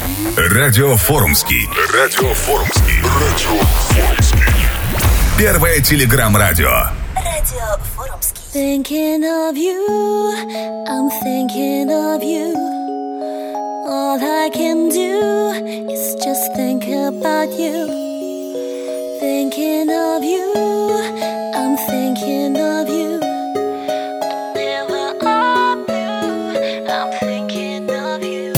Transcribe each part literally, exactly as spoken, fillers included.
Радио Форумский. Радио Форумский. Радио Форумский. Первое телеграм-радио. Радио Форумский. Thinking of you, I'm thinking of you. All I can do is just think about you. Thinking of you, I'm thinking of you. Never of you, I'm thinking of you.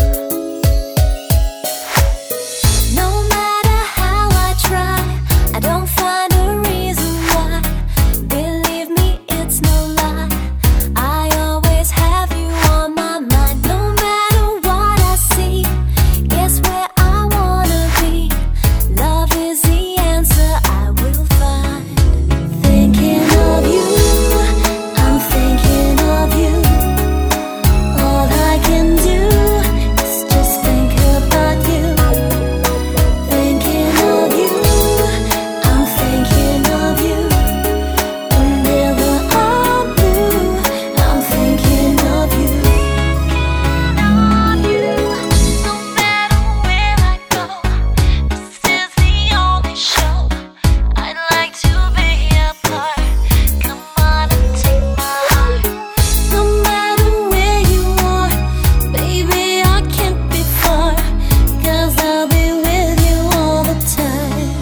No matter how I try, I don't find a reason why. Believe me, it's no lie. I always have you on my mind. No matter what I see, guess where I wanna be. Love is the answer I will find. Thinking of you, I'm thinking of you. All I can do is just think about you. Thinking of you, I'm thinking of you. Whenever I'm blue, I'm thinking of you. Thinking of you, no matter where I go. This is the only show I'd like to be a part. Come on and take my heart. No matter where you are, baby, I can't be far. 'Cause I'll be with you all the time.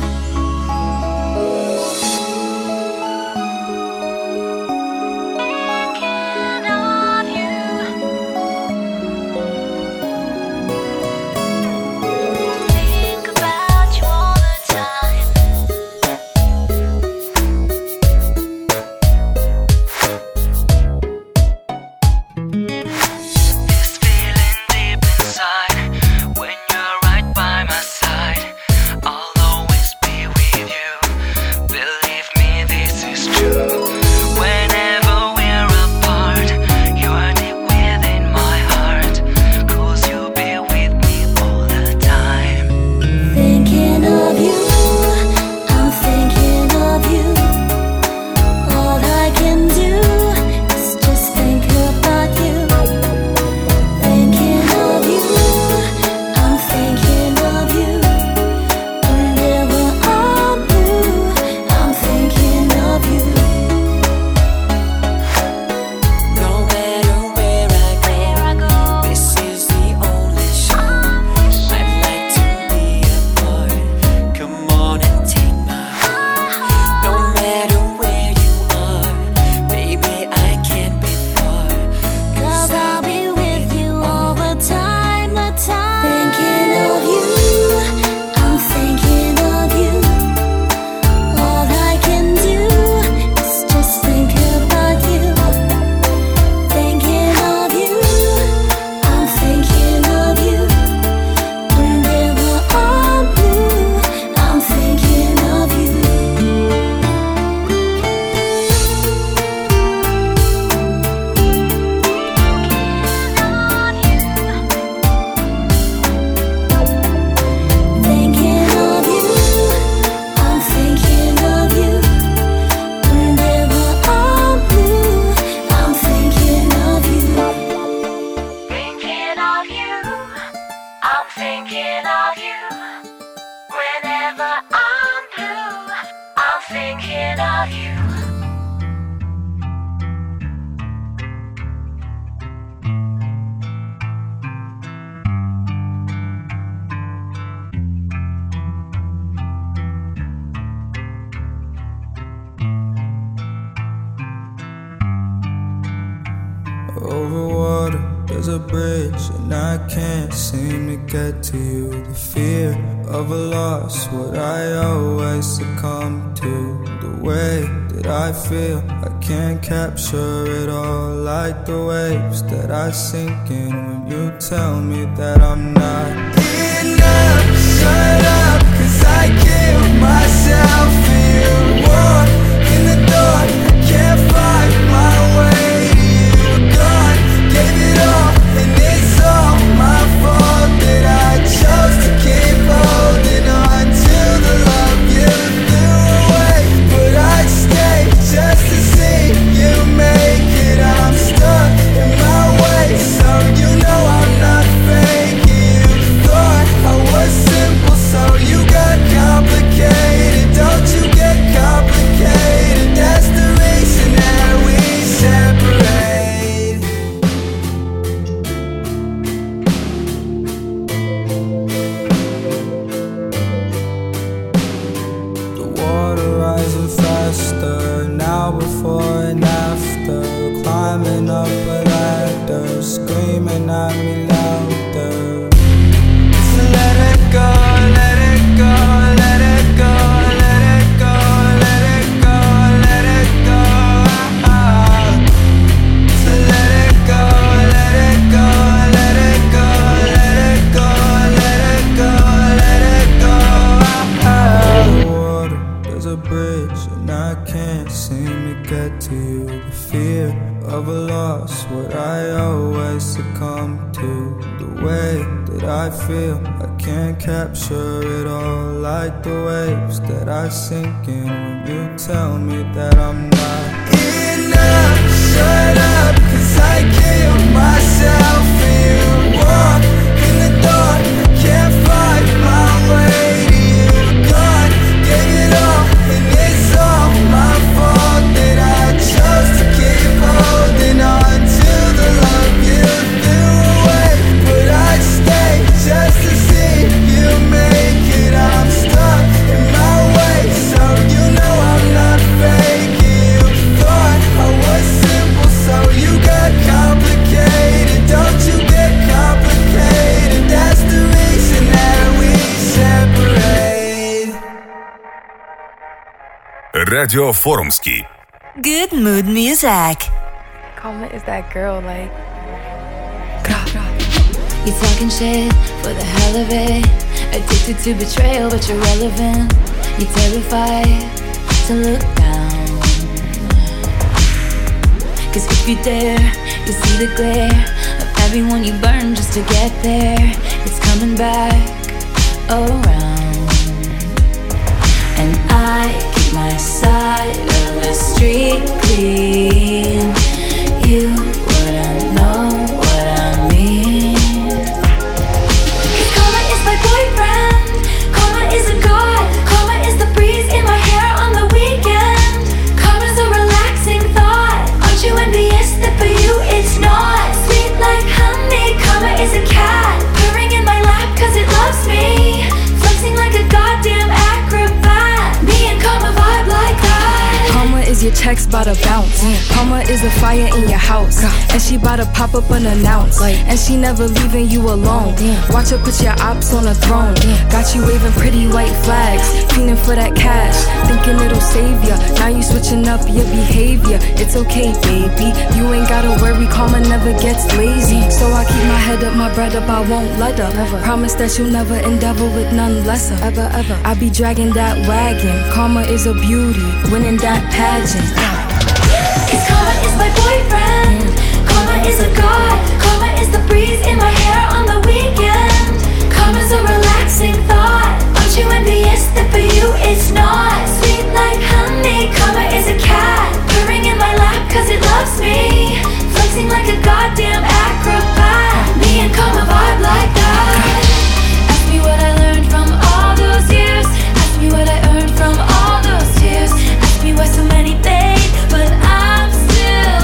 Thinking of you. Think about you all the time. This feeling deep inside, when you're right by my side, I'll always be with you. Believe me, this is true. Whenever we're apart, you are deep within my heart. 'Cause you'll be with me all the time. Thinking of you, I'm thinking of you. All I can do is just think about you. Thinking of you, I'm thinking of you. Whenever I'm blue, I'm thinking of you. No matter where I go, this is the only show I'd like to be a part. Come on and take my heart. No matter where you are, baby, I can't be far. 'Cause I'll be with you all the time, the time. Thinking of you, I'm thinking of you. All I can do is just think about you. Thinking of you, I'm thinking of you. Whenever I'm blue, I'm thinking of you. Thinking of you, I'm thinking of you. Whenever I'm blue, I'm thinking of you. Thinking of you, I'm thinking of you. Whenever I'm blue, I'm thinking of you. Over water, there's a bridge, and I can't seem to get to you. The fear of a loss, what I always succumb to. The way that I feel, I can't capture it all. Like the waves that I sink in when you tell me that I'm not enough. Shut up, 'cause I kill myself for you. Walk in the door, I can't find my way to you. Gone, gave it all, and it's all my fault that I chose to keep holding on to the love you threw away. But I'd stay just to see you make it. I'm stuck in my way, so you know I'm not faking you. I feel, I can't capture it all. Like the waves that I sink in when you tell me that I'm not enough. Shut up, cause I kill myself for you. Walk in the dark, can't find my way to you. God gave it all, and it's all my fault that I chose to keep holding on to the love you threw away. But I'd stay just to see you make it. I'm stuck in my way, so you know I'm not faking. You thought I was simple, so you got complicated. Don't you get complicated? That's the reason that we separate. Радио Форумский. Good mood music. Karma is that girl, like. You talking shit for the hell of it. Addicted to betrayal, but you're relevant. You're terrified to look down. Cause if you dare, you see the glare of everyone you burn just to get there. It's coming back around. And I keep my side of the street clean. You wouldn't know what I mean. Cause karma is my boyfriend. Karma is a god. Karma is the breeze in my hair on the weekend. Karma's a relaxing thought. Aren't you envious that for you it's not? Sweet like honey. Karma is a cat purring in my lap cause it loves me. Flexing like a goddamn acrobat. Me and karma vibe like that. Karma is your checks bout to bounce. Karma is a fire in your house, and she bout to pop up unannounced. And she never leaving you alone. Watch her put your ops on a throne. Got you waving pretty white flags, feeling for that cash, thinking it'll save ya. Now you switching up your behavior. It's okay, baby. You ain't gotta worry. Karma never gets lazy. So I keep my head up, my bread up. I won't let her. Never. Promise that you'll never endeavor with none lesser. Ever, ever. I be dragging that wagon. Karma is a beauty, winning that pageant. Cause karma is my boyfriend. Karma is a god. Karma is the breeze in my hair on the weekend. Karma's a relaxing thought. Aren't you envious that for you it's not? Sweet like honey. Karma is a cat purring in my lap cause it loves me. Flexing like a goddamn acrobat. Me and karma vibe like that. Ask me what I learned from all those years. Ask me what I earned from all those tears. Ask me why so many fade, but I'm still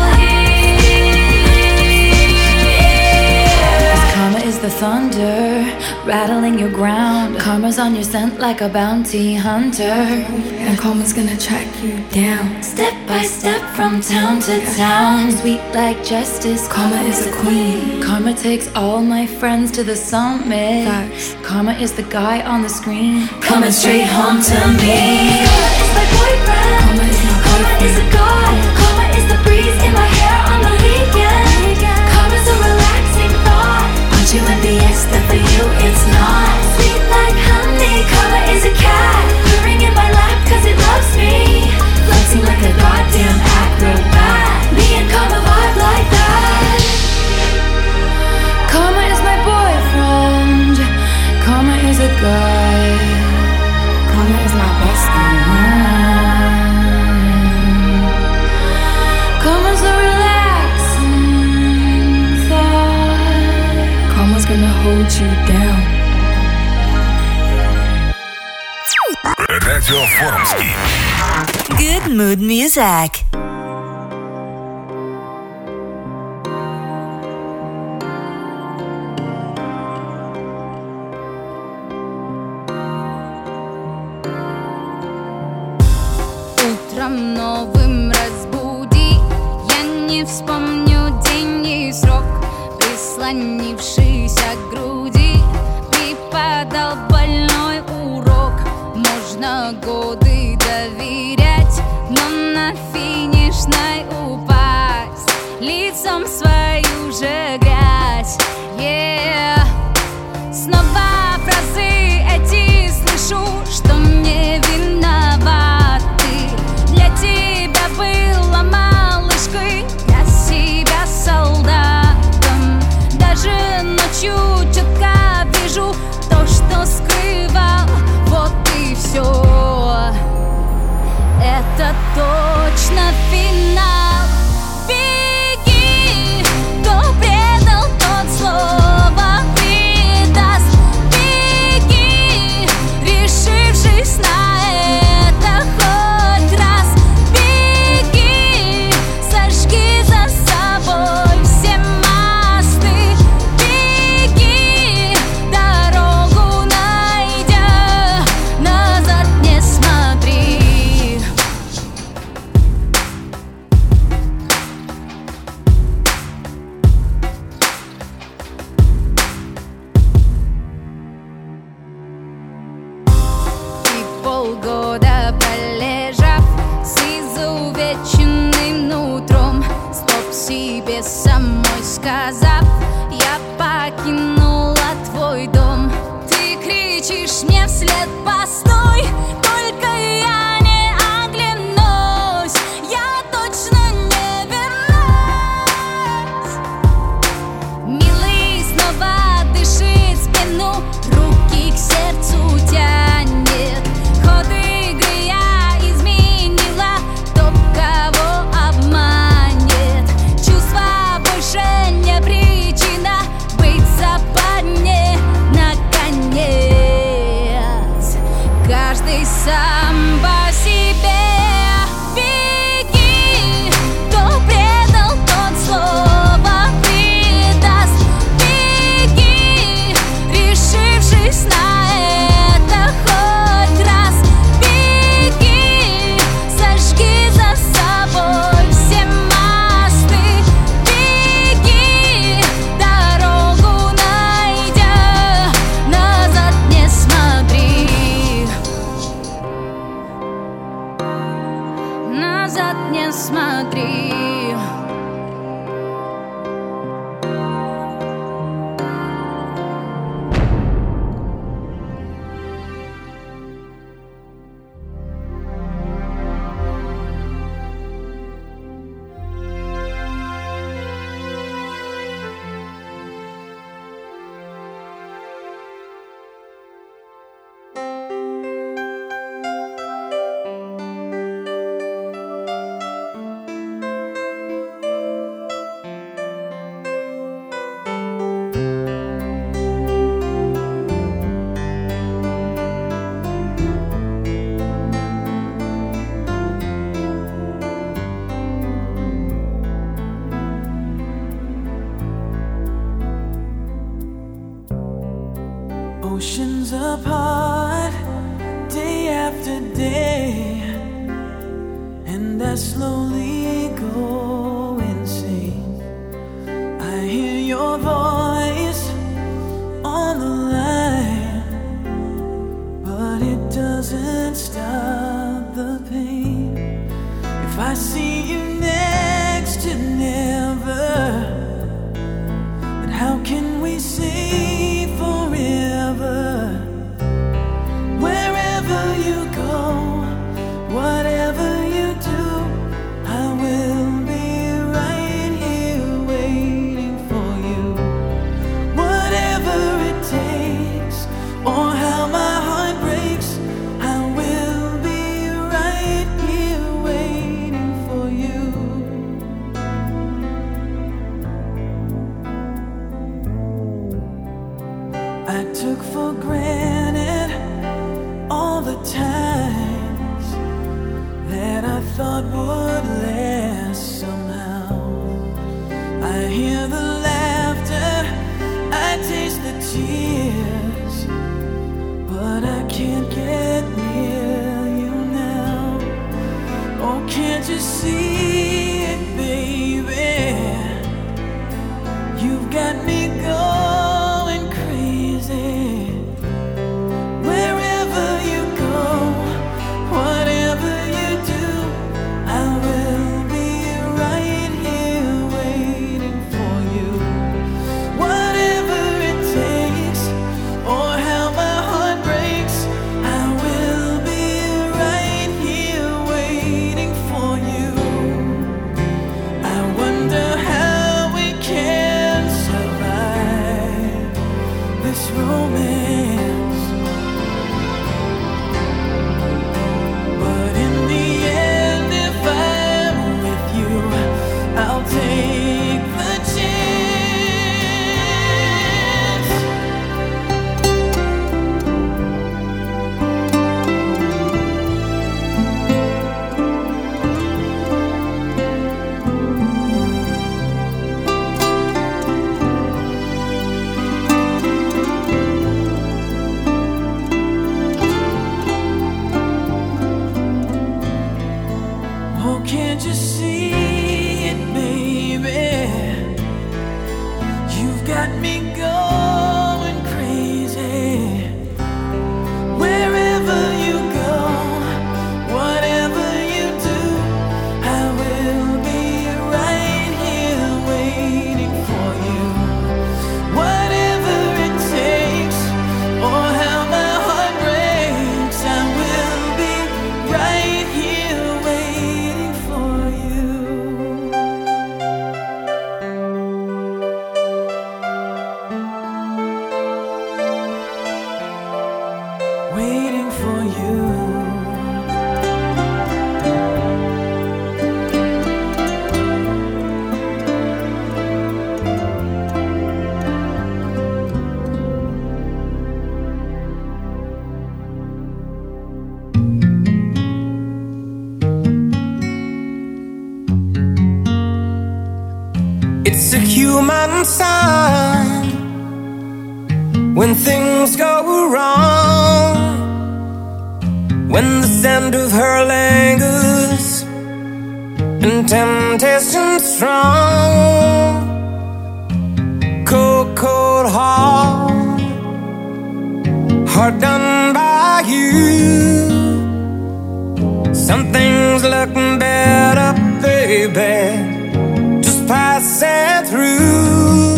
here. Cause karma is the thunder rattling your ground. Karma's on your scent like a bounty hunter. And karma's gonna track you down. Step by step from town to town. Sweet like justice. Karma is a queen. Karma takes all my friends to the summit. Facts. Karma is the guy on the screen coming straight home to me. Karma is my boyfriend. Karma is my Karma is a god. Karma is the breeze in my hair on the weekend. Karma's a relaxing thought. Aren't you envious that for you it's not? Sweet like honey. Karma is a cat purring in my lap cause it loves me. Flexing like a goddamn acrobat. Me and karma vibe like that. Karma is my boyfriend. Karma is a guy. Karma is my bestie. Karma's a relaxing thought. Karma's gonna hold you down. Радио Форумский. Good mood music. Утром новым разбуди, я не вспомню день и срок. Прислонившийся к груди, преподал больной урок. Можно годы доверять, но на финишной упасть лицом в свою же грязь. Yeah. Снова фразы эти слышу, что мне виноваты. Для тебя была малышкой, для себя солдатом. Даже ночью четко вижу сам по себе. Беги, кто предал, тот слово предаст. Беги, решившись на это хоть раз. Беги, сожги за собой все мосты. Беги, дорогу найдя, назад не смотри. Назад не смотри. Oceans apart, day after day, and I slowly go insane. I hear your voice on the line, but it doesn't stop the pain. If I see you next to never, then how can we say forever? Wherever you go, whatever you do, I will be right here waiting for you. Whatever it takes, or how my heart breaks, I will be right here waiting for you. I took for granted all the times that I thought would last somehow. I hear the laughter, I taste the tears, but I can't get near you now. Oh, can't you see it, baby? You've got me going crazy. Wherever you go, whatever you do, I will be right here waiting for you. Whatever it takes, or how my heart breaks, I will be right here waiting for you. one sign when things go wrong, when the scent of her lingers and temptation strong. Cold, cold heart, heart done by you. Some things look better, baby, just pass it through.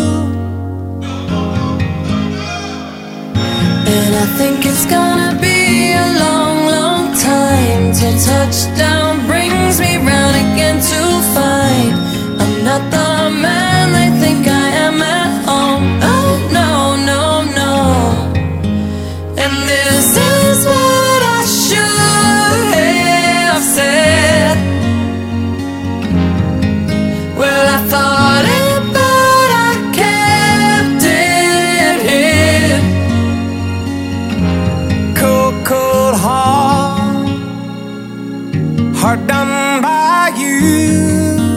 And I think it's gonna be a long, long time till touchdown brings me round again to find I'm not the man they think I am at home. Oh no, no, no. And this is what I should have said. Well, I thought it, but I kept it hid. Cold, cold heart, heart done by you.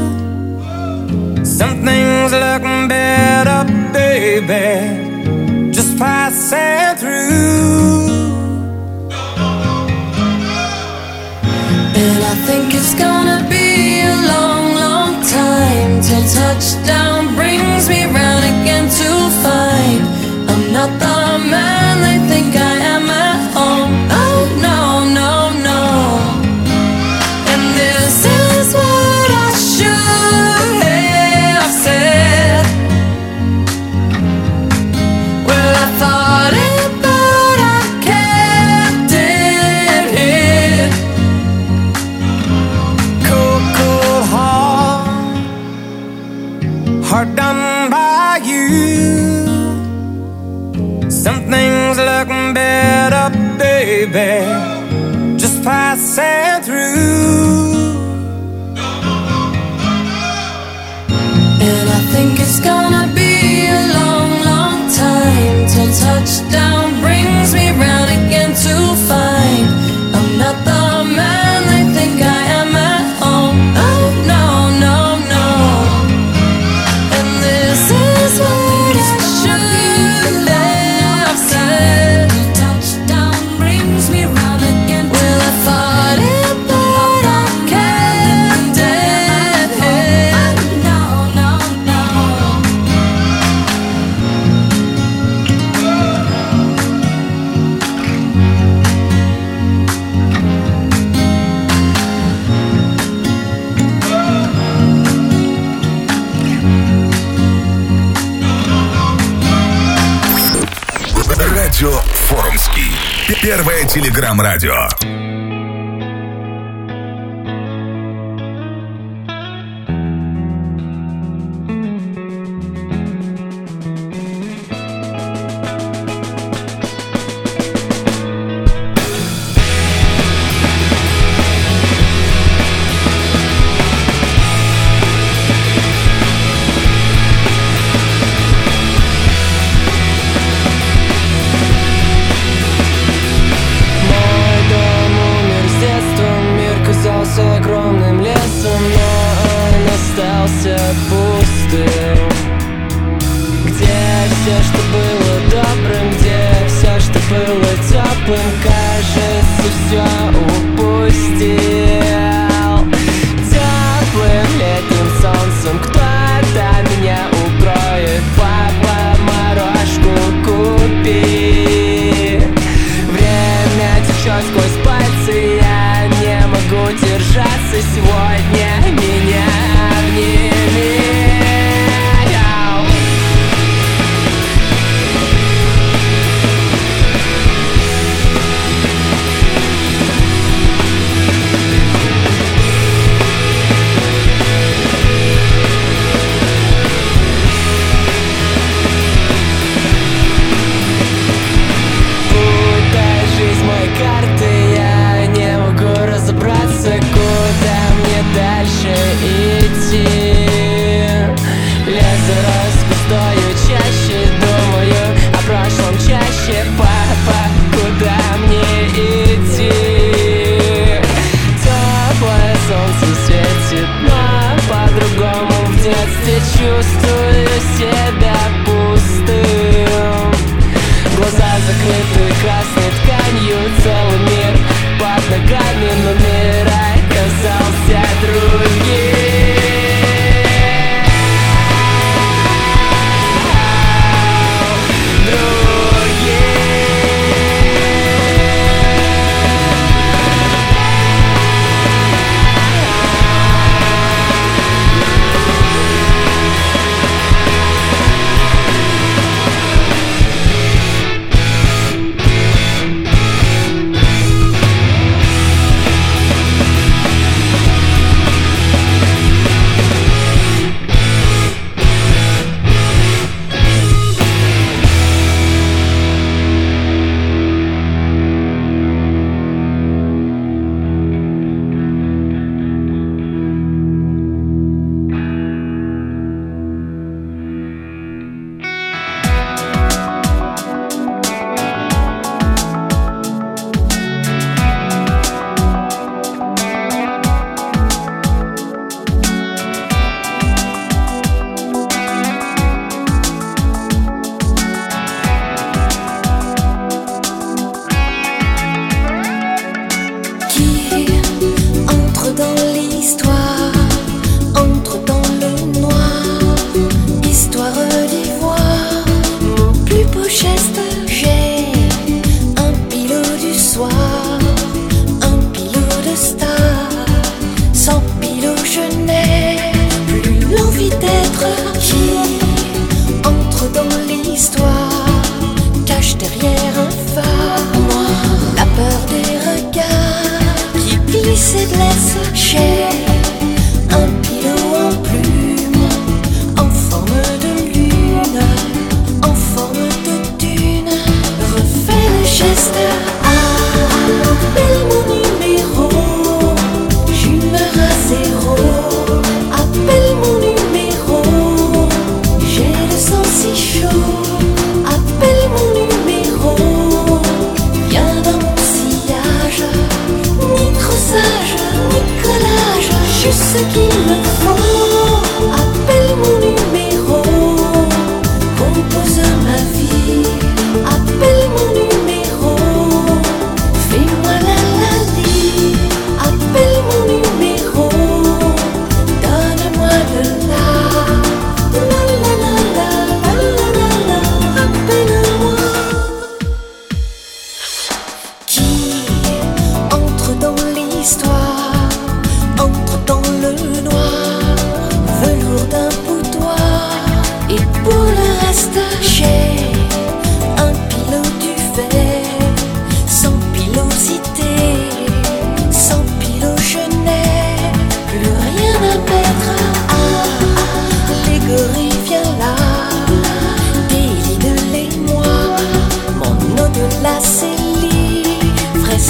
Some things look better, baby, just pass it through. And I think it's gonna be a long, long time till touchdown brings me round again to find I'm not the man they think I am at home. Oh no, no, no. And this is what I should have said. Well, I thought it, but I kept it hid. Cold, cold heart, heart done by you. Some things look better, baby, just pass it through. And I think it's gonna be a long, long time till touchdown brings me round again to find I'm not the man they think I am at home. Oh no, no, no. And this is what I should have said. Touchdown brings me round again. Well, I thought it, but I kept it hid. No, no, no. Радио Форумский. Первое телеграм-радио. Мой дом умер здесь.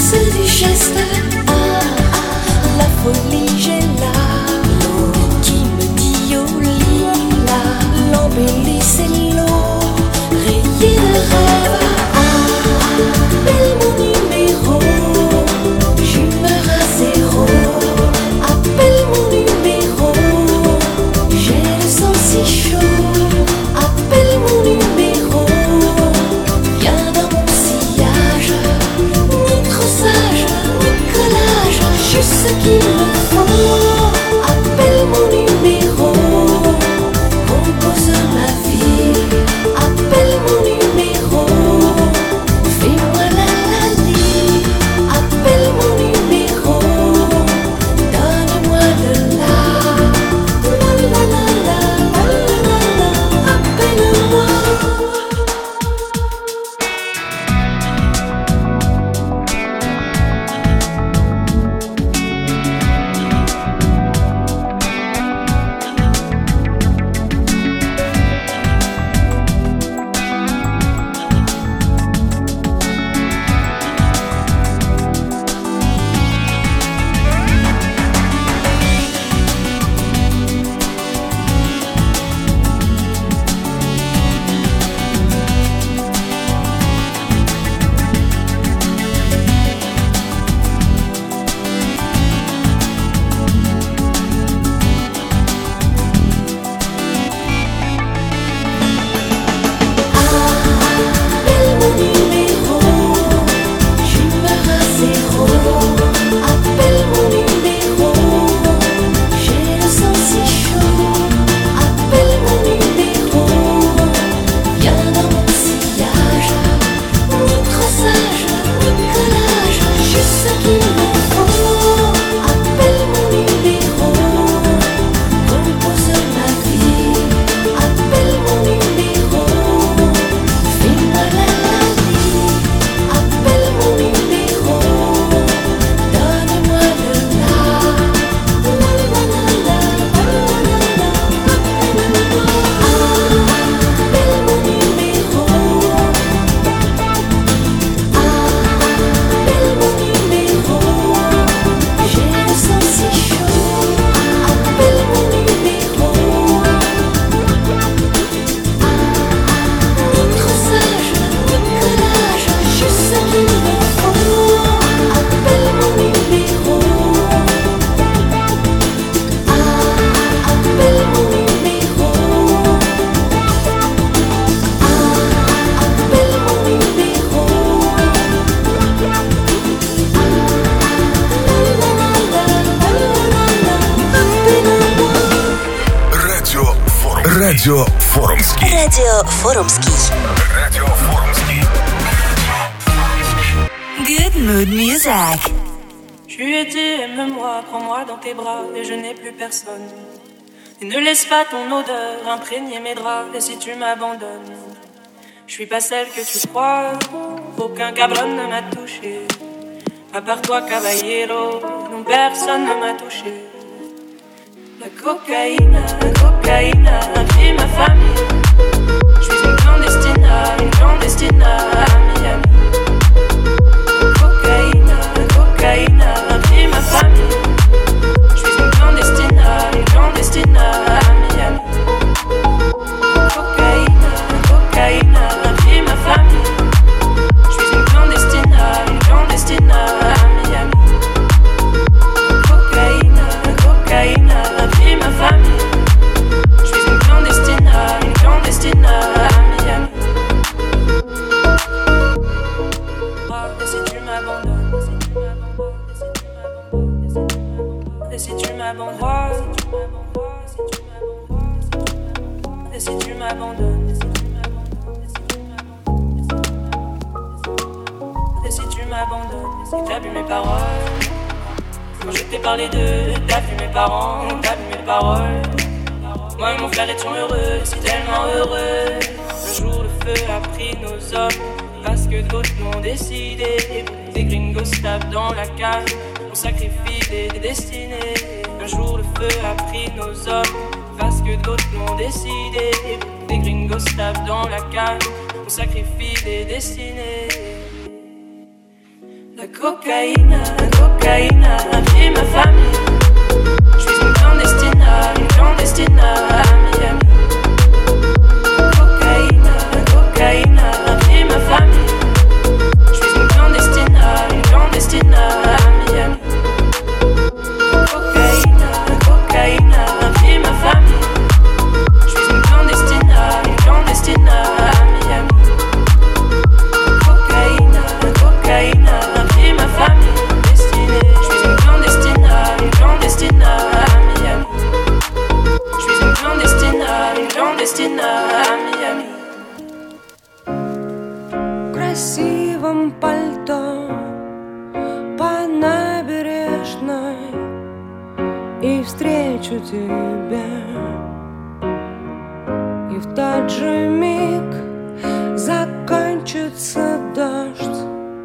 force du geste, ah, ah, la folie j'ai là, qui me dit oh lila, l'embellie c'est l'eau, rayée de rêve, ah, appelle mon numéro, j'humeur à zéro, appelle mon numéro, j'ai le sang si chaud, appelle mon numéro, viens dans mon sillage, ni crossage, ni collage, juste ce qu'il me faut, appelle mon numéro, compose ma vie, appelle mon numéro, fais-moi la la vie, appelle mon numéro, donne-moi de la, la la la la, la la la, appelle-moi. Appelle mon numéro, j'humeur à zéro, appelle mon numéro, j'ai le sang si chaud, appelle mon numéro, viens dans mon sillage, ni crossage, ni collage, juste ce qu'il me faut, appelle mon numéro, compose ma vie, appelle mon numéro, fais-moi la la vie, appelle mon numéro, donne-moi de la, la la la la, la la la, appelle-moi. Appelle mon numéro, appelle mon numéro, j'ai le sang si chaud, appelle mon numéro, ni crossage, ni collage, juste ce qu'il me faut, appelle mon numéro, appelle mon numéro, appelle mon numéro, Радио Форум. Радио Форумский. Радио Форумский. Радио Форумский. Good mood music. Tu étais, aime-moi, prends-moi dans tes bras et je n'ai plus personne. Et ne laisse pas ton odeur imprégner mes draps. Et si tu m'abandonnes, je suis pas celle que tu crois. Aucun cabron ne m'a touché. À part toi, caballero, non personne ne m'a touché. La cocaïne, la cocaïne a pris ma famille. Je suis une clandestine, une clandestine à Miami. La cocaïne, la cocaïne a pris ma famille. Je suis une clandestine, une clandestine à Miami. La cocaïne, la cocaïne a pris ma famille. Je suis une clandestine, une clandestine à Miami. La cocaïne, la cocaïne a pris ma famille. Je suis une clandestine, une clandestine à Miami. Et si tu m'abandonnes, et si tu m'abandonnes, et si tu m'abandonnes, et si tu m'abandonnes, si t'as vu mes paroles, quand je t'ai parlé d'eux, t'as vu mes parents, t'as vu mes paroles. Moi et mon frère étions heureux, si tellement heureux. Un jour le feu a pris nos hommes, parce que d'autres l'ont décidé. Des gringos tapent dans la cave, on sacrifie des, des destinées. Un jour le feu a pris nos hommes, parce que d'autres l'ont décidé. Des gringos tapent dans la cave, on sacrifie des destinées. La cocaïne, la cocaïne a pris ma famille. Je suis une clandestine, une clandestine à Miami. La cocaïne, la cocaïne a pris ma famille. Je suis une clandestine, une clandestine à Miami. La cocaïne, la cocaïne a pris ma famille. Je suis une clandestine, une clandestine à Miami. Cocaïne, cocaïne a pris ma famille. Destinée, je suis une clandestine, une clandestine à Miami. Je suis une clandestine, une clandestine à Miami. В красивом пальто по набережной и встречу тебя. И в тот же миг закончится дождь,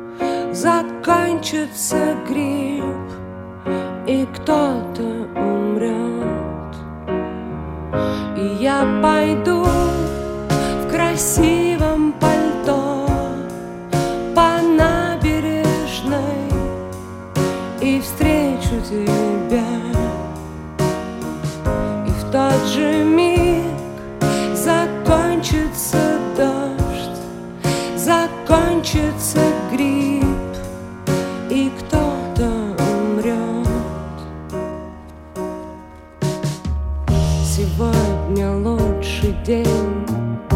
закончится грипп, и кто-то умрет. И я пойду в красивом пальто по набережной и встречу тебя. И в тот же миг закончится дождь, закончится грипп, и кто-то умрет. Сегодня лучший день,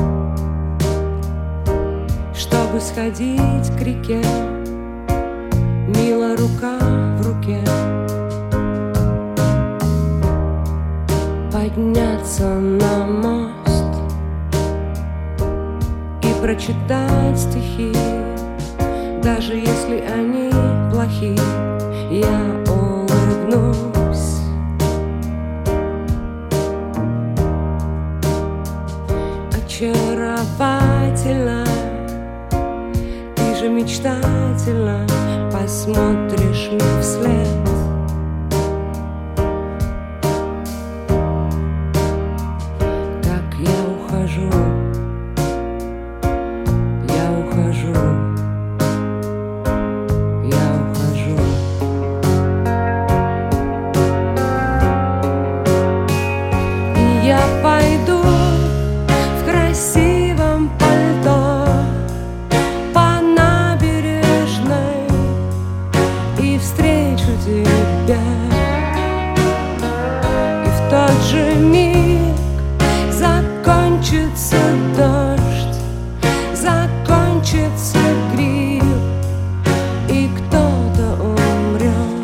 чтобы сходить к реке, мило рука в руке, подняться на мост и прочитать стихи, даже если они плохи, я улыбнусь. Очаровательно, ты же мечтательно посмотришь мне вслед. Как я ухожу, я ухожу, я ухожу. И я пойду в красивом пальто по набережной и встречу тебя. И в тот же миг закончится дождь, закончится грипп, и кто-то умрет.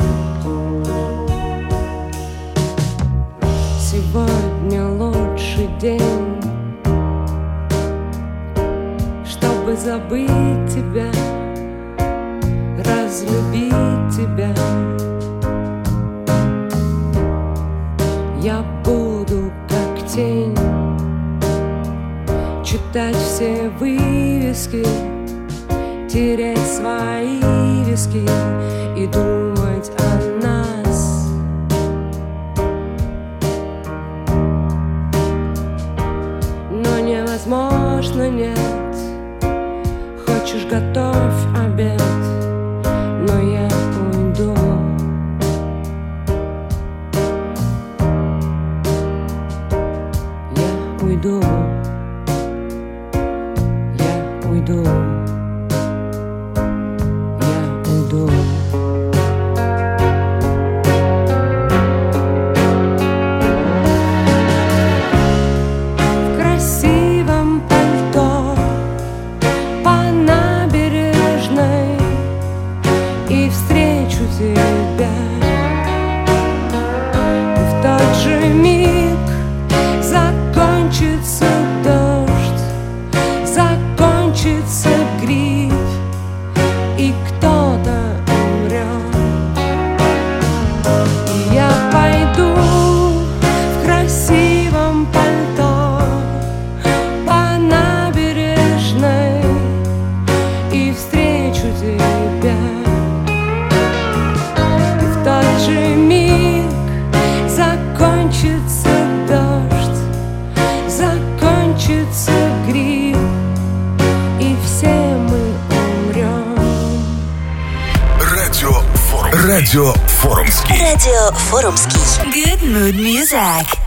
Сегодня лучший день, чтобы забыть тебя, разлюбить тебя. Я буду как тень читать все вывески, тереть свои виски и думать о нас. Но невозможно, нет. Хочешь, готовь обед, но я уйду. Я уйду. Я уйду. Я уйду. В красивом пальто по набережной и встречу тебя. И в тот же миг закончится дождь, закончится грипп, и кто-то умрет. И я пойду в красивом пальто по набережной и встречу тебя. И в тот же миг закончится дождь, закончится грипп, и все мы умрем. Радио Форум. Радио Форумский. Радио Форумский. Good mood music.